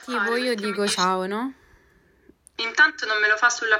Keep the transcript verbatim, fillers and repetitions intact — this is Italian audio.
Tipo io dico ciao, no? Intanto non me lo fa sulla